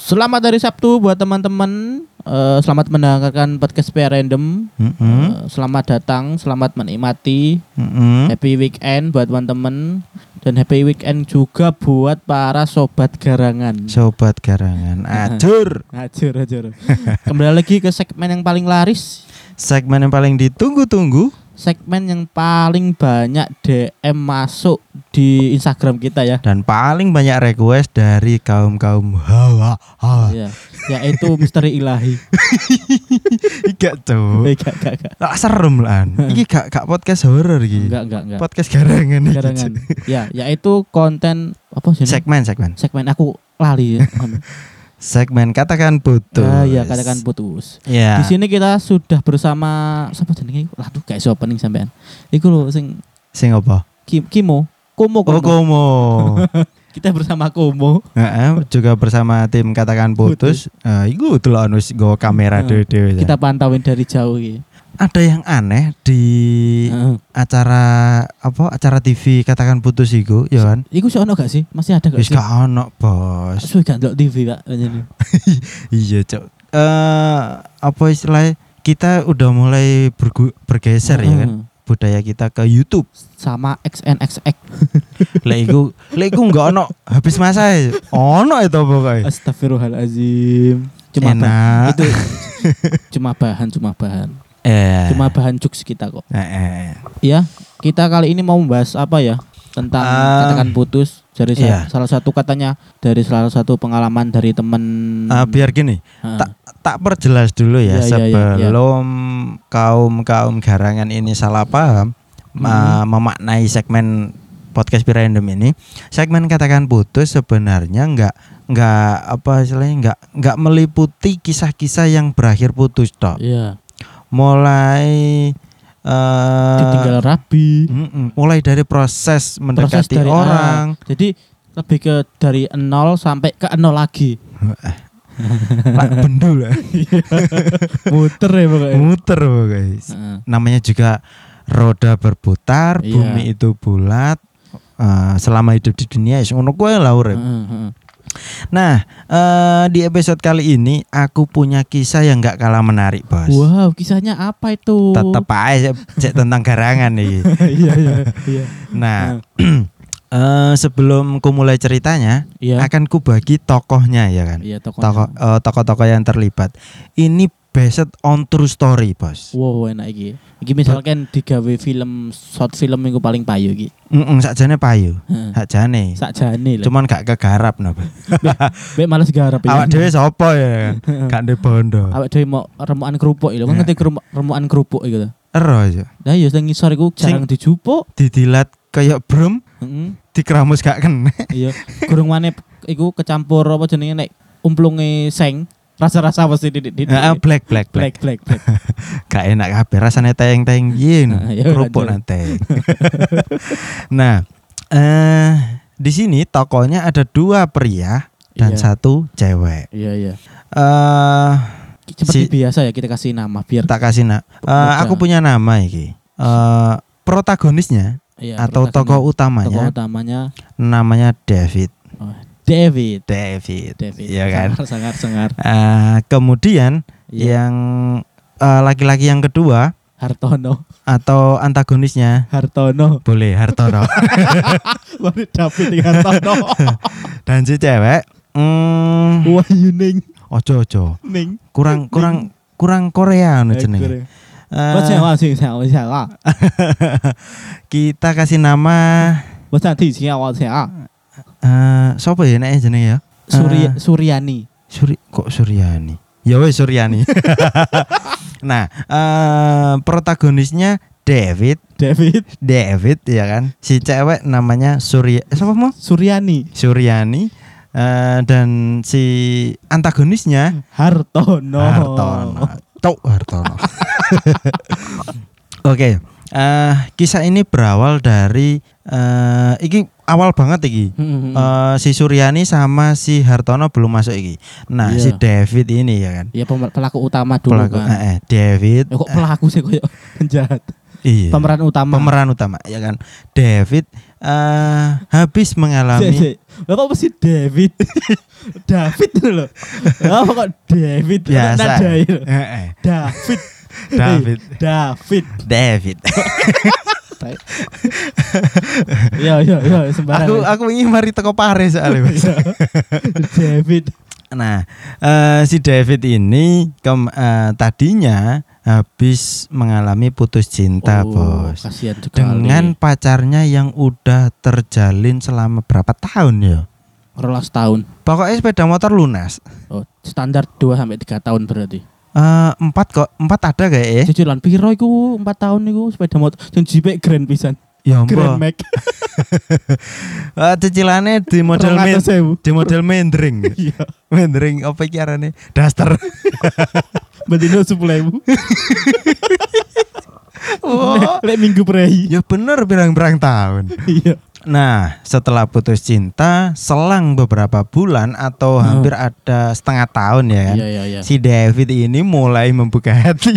Selamat hari Sabtu buat teman-teman. Selamat mendengarkan podcast PR Random. Selamat datang, selamat menikmati. Happy weekend buat teman-teman dan happy weekend juga buat para sobat garangan. Sobat garangan, acur. Kembali lagi ke segmen yang paling laris, segmen yang paling ditunggu-tunggu, segmen yang paling banyak DM masuk di Instagram kita ya. Dan paling banyak request dari kaum-kaum hawa. Ya, yaitu misteri ilahi. Gak tuh. Gak serem lah. Iki gak podcast horor iki. Enggak. Podcast garangan. Ya, yaitu konten apa sih? Segmen aku lali ya. Segmen katakan putus. Ya, katakan putus. Ya. Di sini kita sudah bersama siapa jenenge? Aduh, gak iso opening sampean. Iku lho sing apa? Komo. Kita bersama Komo. Juga bersama tim katakan putus. Iku delok wis nggo kamera dhewe. Kita pantauin dari jauh iki. Ada yang aneh di acara TV katakan putus iku, ya kan? Iku sih ono gak sih? Masih ada gak sih? Wis gak ono, Bos. Suwe gak ndelok TV, Pak. Iya, Cok. Apa istilahnya? Kita udah mulai bergeser ya kan? Budaya kita ke YouTube sama XNXX. Lek iku enggak ono habis masa. Ono itu pokoknya. Astagfirullahalazim. Cuma bahan. Cuma bahan jokes kita kok. Ya, kita kali ini mau membahas apa ya? Tentang katakan putus dari salah satu katanya dari salah satu pengalaman dari teman. Biar gini, tak perjelas dulu ya sebelum kaum garangan ini salah paham memaknai segmen podcast Random ini. Segmen katakan putus sebenarnya enggak meliputi kisah-kisah yang berakhir putus toh. Iya. Mulai ditinggal rabi, mulai dari proses mendekati orang. Jadi lebih ke dari 0 sampai ke 0 lagi. Pak bendul. Muter pokoknya. Namanya juga roda berputar, bumi itu bulat. Selama hidup di dunia ngono kuwi lah urip. Nah, di episode kali ini aku punya kisah yang gak kalah menarik, Bos. Wow, kisahnya apa itu? Tetep aja tentang garangan nih. Iya. Nah, sebelum ku mulai ceritanya, akan ku bagi tokohnya ya kan. Iya, tokoh-tokoh yang terlibat. Ini based on true story, Bos. Wow, enak iki. Iki misalkan digawe short film minggu paling payu iki. Sakjane payu. Sakjane lho. Cuman gak kegarap napa. Mbek males garap ya. Awak dhewe sapa ya? Gak ndek bondo. Awak dhewe mau remukan kerupuk lho. Ngerti remukan kerupuk iku lho. Ero aja. Lah ya sing ngisor iku jarang dijupuk, didilat kayak brum. Dikeramus gak kena. Iya. Gurung maneh iku kecampur apa jenenge nek umplunge seng. Rasa-rasa pasti di black. Gak enak kabeh rasane teng-teng yen kerupuk nanti. Nah, di sini tokonya ada 2 pria dan 1 cewek. Iya. Seperti biasa ya kita kasih nama biar tak kasih aku punya nama iki. Protagonisnya atau tokoh utamanya namanya David. David. Ya kan? Sangar. Kemudian yang laki-laki yang kedua Hartono atau antagonisnya Hartono. Boleh Hartono. Boleh David Hartono. Dan si cewek Wahyu Ning. Ojo. Ning. Kurang Korea anu jenenge. Kita kasih nama siapa ya nek jenenge ya? Suryani. Kok Suryani? Ya wes Suryani. Nah, protagonisnya David ya kan. Si cewek namanya Suryani. Dan si antagonisnya Hartono. Oke. Kisah ini berawal dari iki awal banget iki. Si Suryani sama si Hartono belum masuk iki. Nah, si David ini ya kan. Iya, pelaku utama dulu kan. David. Kok pelaku sih koyo penjahat. Iya. Pemeran utama ya kan. David habis mengalami Apa sih David? David itu loh. Apa kok David? Biasa. Nadail. David. David. Ya sembarang. Aku ingin mari teko pare soalnya Mas. David. Nah, si David ini tadinya habis mengalami putus cinta, Bos. Kasihan sekali. Dengan pacarnya yang udah terjalin selama berapa tahun ya? 12 tahun. Pokoknya sepeda motor lunas. Oh, standar 2 sampai 3 tahun berarti. 4 kok, 4 ada kayak ya? Cicilan piro iku 4 tahun niku sepeda motor sing jipe Grand pisan. Ya Grand ampun. Max. Cicilannya di model mendring. Iya. Mendring apa iki arane? Duster. Bendino 10.000. Oh, Lek minggu prei. ya bener pirang-pirang tahun. Iya. Nah, setelah putus cinta, selang beberapa bulan atau hampir ada setengah tahun ya kan, Iya. si David ini mulai membuka hati.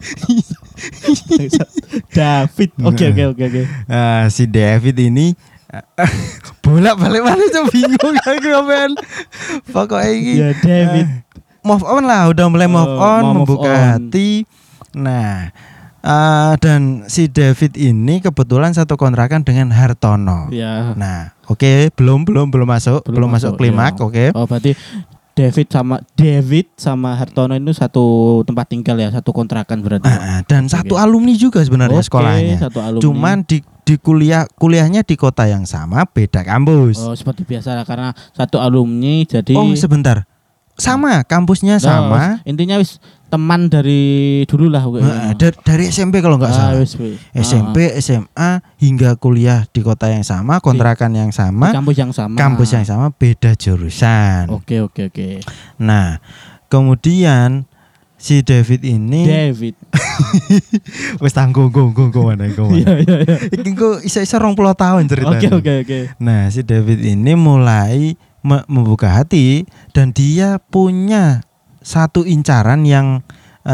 David. Oke. Si David ini bolak-balik mana tuh bingung aku men. Pokoknya ini Ya David. move on lah, udah mulai move on, move membuka on. hati. Nah, dan si David ini kebetulan satu kontrakan dengan Hartono. Ya. Nah, oke, belum masuk klimaks, ya. oke. Oh, berarti David sama Hartono itu satu tempat tinggal ya, satu kontrakan berarti. Dan satu alumni juga sebenarnya sekolahnya. Satu alumni. Cuman di kuliahnya di kota yang sama, beda kampus. Oh, seperti biasa lah, karena satu alumni jadi. Oh, sebentar. Sama, kampusnya sama. Intinya wis teman dari dulu lah. Dari SMP kalau nggak salah. Wis. SMP, SMA hingga kuliah di kota yang sama, kontrakan yang sama, Di kampus yang sama. beda jurusan. Oke. Nah, kemudian si David ini wis tanggung mana. Iya. Iki engko iso-iso 20 tahun ceritanya. Oke. Nah, si David ini mulai membuka hati dan dia punya satu incaran yang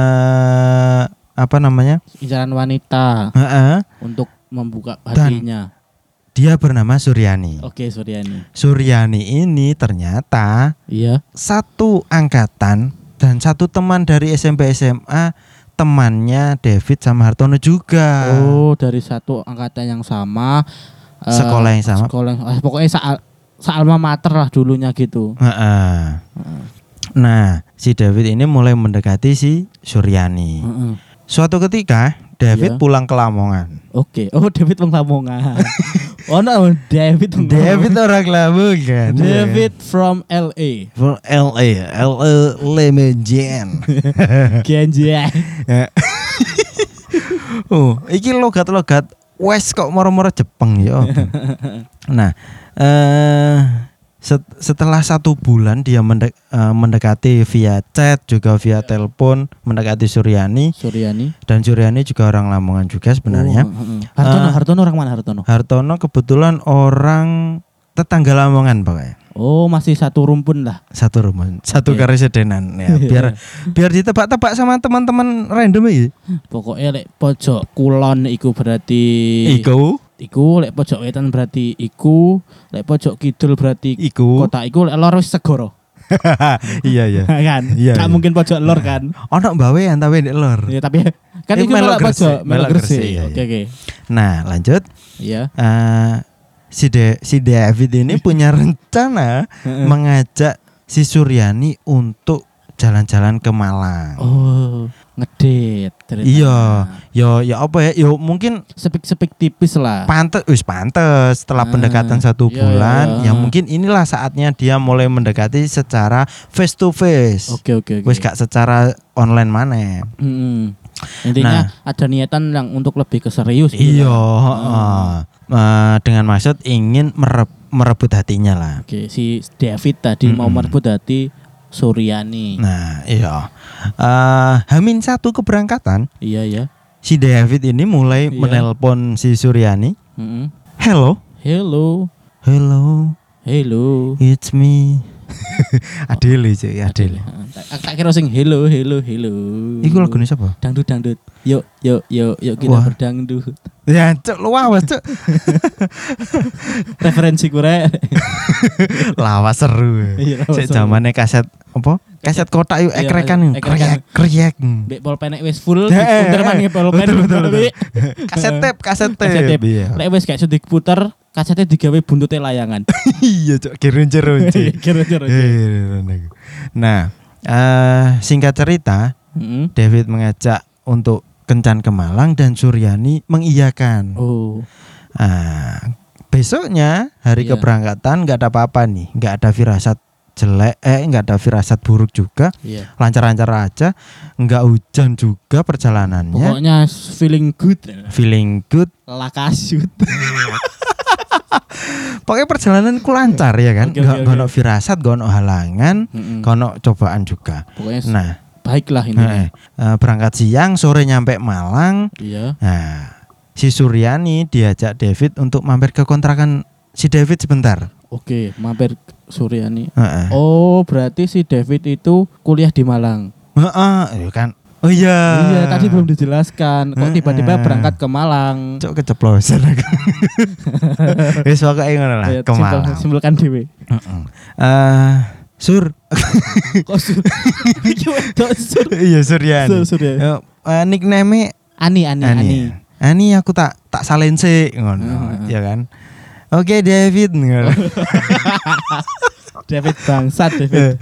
Incaran wanita untuk membuka hatinya. Dia bernama Suryani. Oke, Suryani. Suryani ini ternyata Iya. satu angkatan dan satu teman dari SMP SMA, temannya David sama Hartono juga. Oh, dari satu angkatan yang sama, Sekolah yang sama. Pokoknya alma mater lah dulunya gitu. Nah, si David ini mulai mendekati si Suryani. Suatu ketika David pulang ke Lamongan. Oke. Oh, David wong Lamongan. Oh, no, David orang Lamongan. David from LA. From LA Lemejen. Genjang. Oh, iki logat-logat West kok moro-moro Jepang ya. Nah, setelah 1 bulan dia mendekati via chat juga via telepon, mendekati Suryani. Dan Suryani juga orang Lamongan juga sebenarnya. Hartono orang mana Hartono? Hartono kebetulan orang tetangga Lamongan pokoknya. Oh, masih satu rumpun lah. Satu karesidenan ya. Biar ditebak-tebak sama teman-teman random iki. Pokoknya lek pojok kulon iku berarti Iku lek pojok wetan berarti iku, lek pojok kidul berarti kota iku, lek lor wis segoro. Iya. Kan? Iya. Gak mungkin pojok lor kan. Ono mbawean tapi ndek lor. Ya tapi kan iku malah pojok Melok Gresik. Oke. Nah, lanjut. Iya. Si David ini punya rencana mengajak si Suryani untuk jalan-jalan ke Malang. Oh, ngedit. Iya, ya apa ya? Yo mungkin sepik tipis lah. Pantes setelah pendekatan 1 bulan, ya mungkin inilah saatnya dia mulai mendekati secara face to face. Oke. Wis gak secara online mana. Intinya ada niatan yang untuk lebih ke serius. Iya, dengan maksud ingin merebut hatinya lah. Oke, si David tadi mau merebut hati Suryani. Nah, iya. H-1 keberangkatan. Iya. Si David ini mulai menelpon si Suryani. Hello. Hello. It's me. Adele cuy, Adele. Tak kira sing hello. Iku lagune sapa? Dangdut. Yuk kita Wah. berdangdut. Ya, cuk, lu awas, cuk. Referensi kure. Lawas seru. Iya, lawas Sik seru. zamane kaset apa? Kaset kotak yuk Iya, ekrekan. ekrekan. Kriyek. Mbek pulpen wis full, Heeh, diputer maneh pulpen. betul. Kaset tape. Kaset tape. Iya. Lek wis gak iso diputer, kasetnya digawe buntute layangan. Iya, cuk, gerunjer-runjer. Kira-kira. Nah, singkat cerita, David mengajak untuk kencan ke Malang dan Suryani mengiyakan. Oh. Besoknya hari Iya. keberangkatan nggak ada apa-apa nih, nggak ada firasat jelek, nggak ada firasat buruk juga, Iya. lancar-lancar aja, nggak hujan juga perjalanannya, Pokoknya feeling good. feeling good, Lakasut. pokoknya perjalananku lancar ya kan, Oke, nggak oke. ono firasat, nggak ono halangan, nggak ono cobaan juga. Pokoknya Nah, baiklah ini. berangkat siang, sore nyampe Malang. Iya. Nah, si Suryani diajak David untuk mampir ke kontrakan si David sebentar. Oke, mampir Suryani. Heeh. Oh, berarti si David itu kuliah di Malang. Iya kan. Oh iya. Iya, tadi belum dijelaskan. Kok tiba-tiba berangkat ke Malang? Cok keceplosan aku. Wis pokoke ngono lah, Ayo, ke Malang. simpulkan dhewe. Heeh. Sur. Kok sur? Iki wedok sur. Iya, Suryani. Sur. Nickname Ani. Ani aku tak salense ngono, ya kan. Oke, David ngono. David bangsat David.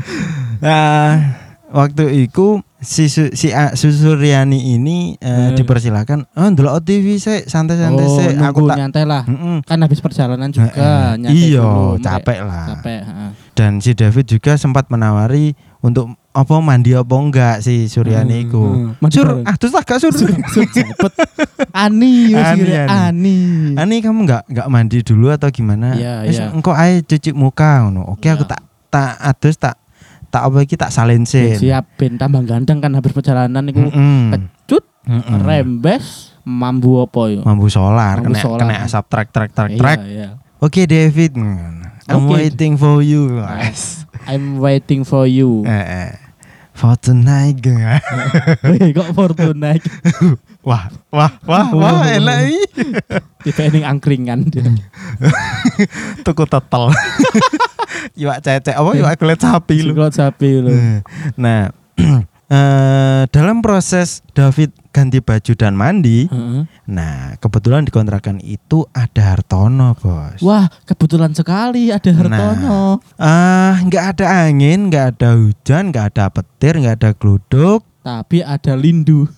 Waktu itu si Suryani ini dipersilakan ndelok TV sik santai-santai sik, aku nunggu tak nyantai lah. Mm-mm. Kan habis perjalanan juga nyantai Iya, dulu. capek lah. Capek, heeh. Dan si David juga sempat menawari untuk apa mandi apa enggak si Suryani iku. Mandi Sur, bareng. terus tak gak sur. Sur cepet. Ani, Ani. Ani kamu enggak mandi dulu atau gimana? Iya, Wis, iya. engko ae cuci muka ngono. Oke, Iya. aku tak adus tak apa iki tak salense. Siap ben tambah ganteng kan habis perjalanan iku. Mm-mm. Pecut, Mm-mm. rembes, mambu apa yo? Mambu solar, Mambu kena solar. kena asap trek. Iya. Oke, David. I'm Oke. waiting for you. I'm waiting for you. For tonight. Wih, kok Fortuna iki? Wah, enak iki. Tipe ning angkringan. Tuku tetel. Iwak cecek apa iwak kulit sapi lu. Kulit sapi lu. Nah, dalam proses David ganti baju dan mandi, Heeh. nah kebetulan di kontrakan itu ada Hartono, Bos. Wah, kebetulan sekali ada Hartono. Nggak ada angin, nggak ada hujan, nggak ada petir, nggak ada gluduk. Tapi ada lindu.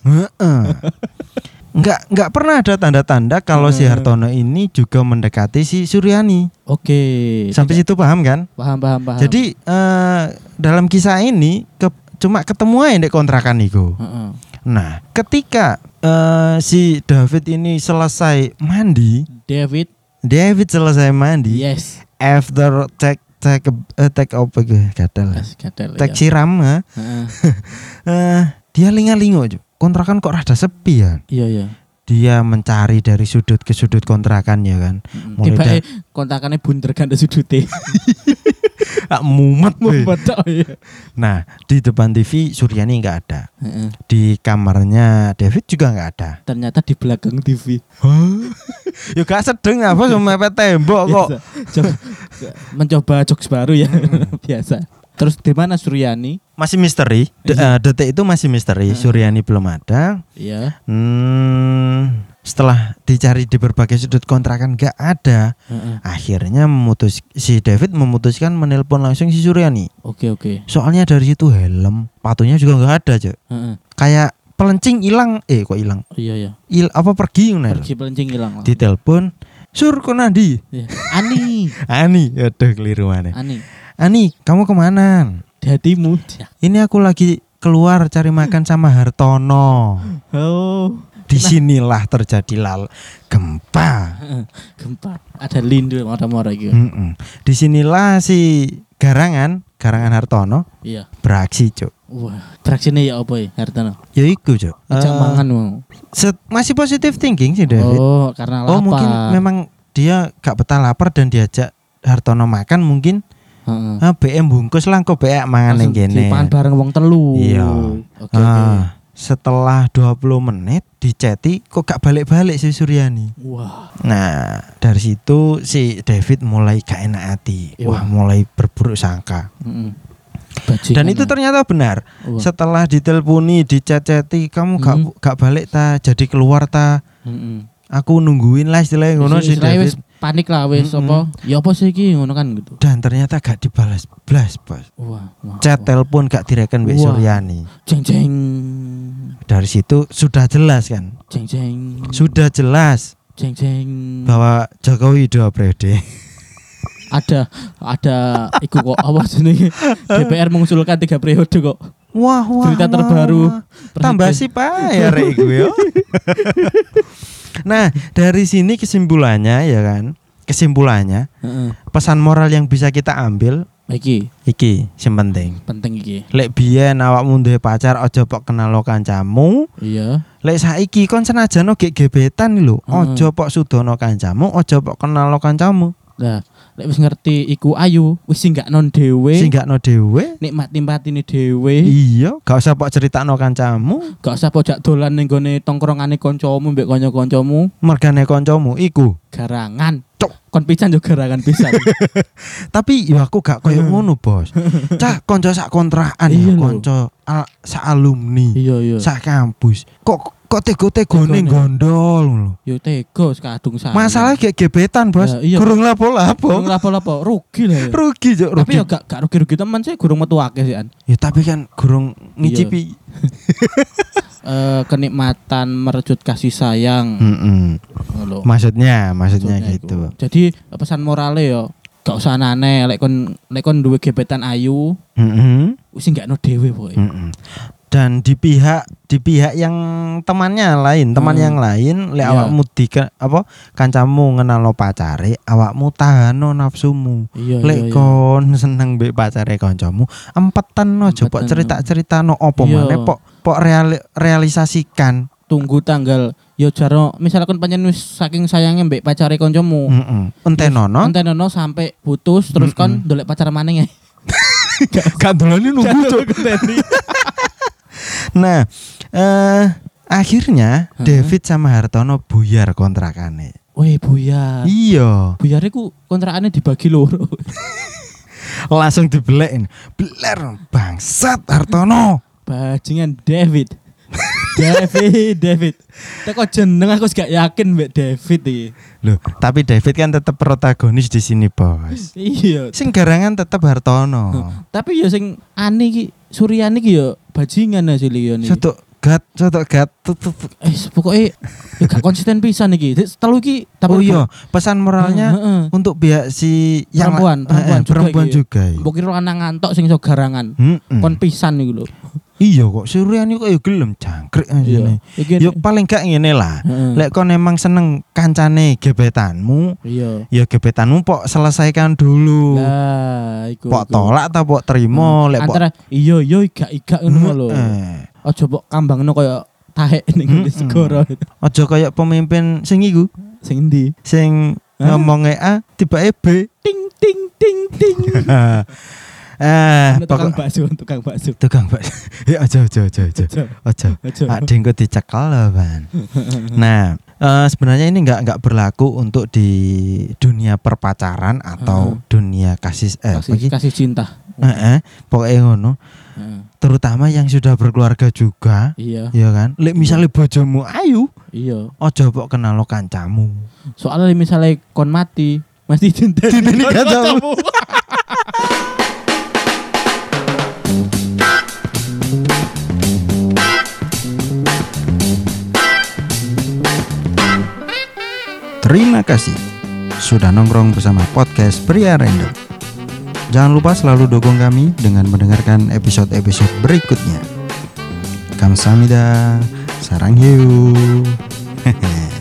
Nggak pernah ada tanda-tanda kalau si Hartono ini juga mendekati si Suryani. Oke. Sampai situ paham kan? Paham. Jadi dalam kisah ini cuma ketemu aja di kontrakan itu. Heeh. Nah, ketika si David ini selesai mandi, David selesai mandi, Yes. after take apa gitu, gatel. Take siram, Heeh. dia linga-lingo, kontrakan kok rada sepi ya. Iya. Dia mencari dari sudut ke sudut kontrakan ya kan. Tiba kontakannya bunder kan ada sudute. Mumet. Betul ya. Nah, di depan TV Suryani nggak ada. Heeh. Di kamarnya David juga nggak ada. Ternyata di belakang TV. Ya gak sedeng apa sama mepet tembok kok. Mencoba jokes baru ya. Biasa. Terus di mana Suryani? Masih misteri. Detik itu masih misteri. Suryani belum ada. Iya. Setelah dicari di berbagai sudut kontrakan gak ada. Akhirnya si David memutuskan menelpon langsung si Suryani. Oke. Soalnya dari situ helm, sepatunya juga nggak ada, Cok. Kayak pelencing hilang. Kok hilang? Iya. Pergi ngono. Pergi pelencing hilang. Ditelepon, "Sur, kok nandi?" Iya. Ani. Aduh keliru mana. Ani, Kamu kemana? di hatimu. Ini aku lagi keluar cari makan sama Hartono. Oh, Disinilah terjadi gempa. gempa. Ada lindu mora-mora gitu. Disinilah si Garangan Hartono Iya. beraksi, Cuk. Wah, traksinya ya apa ya, Hartono? Ya iku, Cuk. Ajak mangan mau. Masih positive thinking sih David. Oh, karena lapar. Mungkin memang dia gak betah lapar dan diajak Hartono makan mungkin Heeh. BM bungkus lah kok beak mangan ning kene. Dipangan bareng wong telu. Iya. Oke. Setelah 20 menit diceti kok gak balik-balik si Suryani. Wah. Nah, dari situ si David mulai gak enak hati. Iya. Wah, mulai berburuk sangka. Dan itu ternyata benar. Wah. Setelah diteleponi, diceceti, kamu gak balik ta, jadi keluar ta. Aku nungguin lah istilahnya ngono si David. Panik lah wis apa? Ya apa sih iki ngono kan gitu. Dan ternyata gak dibalas blas, Bos. Wah. Chat telepon gak direken Mbak Suryani. Jeng. Dari situ sudah jelas kan? Jeng. Sudah jelas Jeng. bahwa Jokowi 2 periode. Ada iku kok apa jenenge DPR mengusulkan 3 periode kok. Wah. Berita terbaru. Tambah sih Pak ya rek iku yo. Nah, dari sini kesimpulannya ya kan? Kesimpulannya, pesan moral yang bisa kita ambil iki sing penting. Penting iki. Lek biyen awakmu duwe pacar aja pok kenal kancamu. Iya. Lek saiki kon senajan gek gebetan lho, aja pok sudono kancamu, aja pok kenal kancamu. Nah, lek wis ngerti iku ayu, wis singgakno dhewe. Nikmati-matine dhewe. Iya, gak usah pok critakno kancamu, gak usah pojak dolan ning gone tongkrongane kancamu mbek kanca-kancamu. Mergane kancamu iku garangan. Kon pisan yo garangan pisan. Tapi yo aku gak koyo ngono, Bos. Cah kanca sak kontrakan ya, kanca sak alumni. Iya. Sak kampus. Kok tego-tegone gondol lho. Yo tego kadung sak. Masalah gek gebetan, Bos. Gurung lapo-lapo. Rugi lah ya. Rugi. Tapi yo gak rugi-rugi teman sih gurung metu akeh sih an. Ya tapi kan gurung ngicipi. Kenikmatan merejut kasih sayang. Maksudnya gitu. Jadi pesan morale yo gak usah aneh lek kon duwe gebetan ayu. Wis gak ono dhewe pokoke. Dan di pihak yang teman yang lain lek awakmu kancamu ngenalno pacare, awakmu tahano nafsumu. Lek kon seneng mbek pacare kancamu, empetan aja pok cerita-ceritano opo maneh pok realisasikan. Tunggu tanggal yo jaro misalkan pancen wis saking sayangnya mbek pacare kancamu. Entenono sampai putus terus kon ndolek pacar maneh. Gak dolane nunggu cuk. Nah, akhirnya David sama Hartono buyar kontrakane. Wih, buyar. Iya. Buyar iku kontrakane dibagi loro. Langsung dibelekin. Beler bangsat Hartono. Bajingan David. Teko jeneng aku gak yakin mbek David iki. Loh, tapi David kan tetap protagonis di sini, Bos. Iya. Sing garangan tetap Hartono. Tapi ya sing aneh iki Suryani ki yo bajingan hasil iki. Soto gat. Pokoknya ya gak konsisten pisan iki. Telu iki tapi pesan moralnya untuk pihak si yang perempuan juga. Mbok kira lanang ngantok sing iso garangan. Kon pisan iku lho. Iya kok Suryani kok ya gelem jangkrik asine. Ya paling gak ngene lah. Lek kon emang seneng kancane gebetanmu, ya gebetanmu pok selesaikan dulu. Lah, iku. Pok tolak ta pok terima lek pok. Antara iya iga ngono lho. Aja pok kambangno koyo taek ning segoro. Aja koyo pemimpin sing iku. Sing endi? Sing ngomongnya A tibake B. Ting. Tukang bakso. Ya aja. Ada yang dicekel lah, Ban. Nah, sebenarnya ini enggak berlaku untuk di dunia perpacaran atau dunia kasih cinta. Pokoknya ngono. Terutama yang sudah berkeluarga juga. Iya kan? Lek misalnya bojomu ayu, aja pok kenal kancamu. Soalnya misalnya kon mati, mesti dinteni kancamu. Terima kasih sudah nongkrong bersama podcast Pria Random. Jangan lupa selalu dukung kami dengan mendengarkan episode-episode berikutnya. Kamsahamnida, sarang hiu.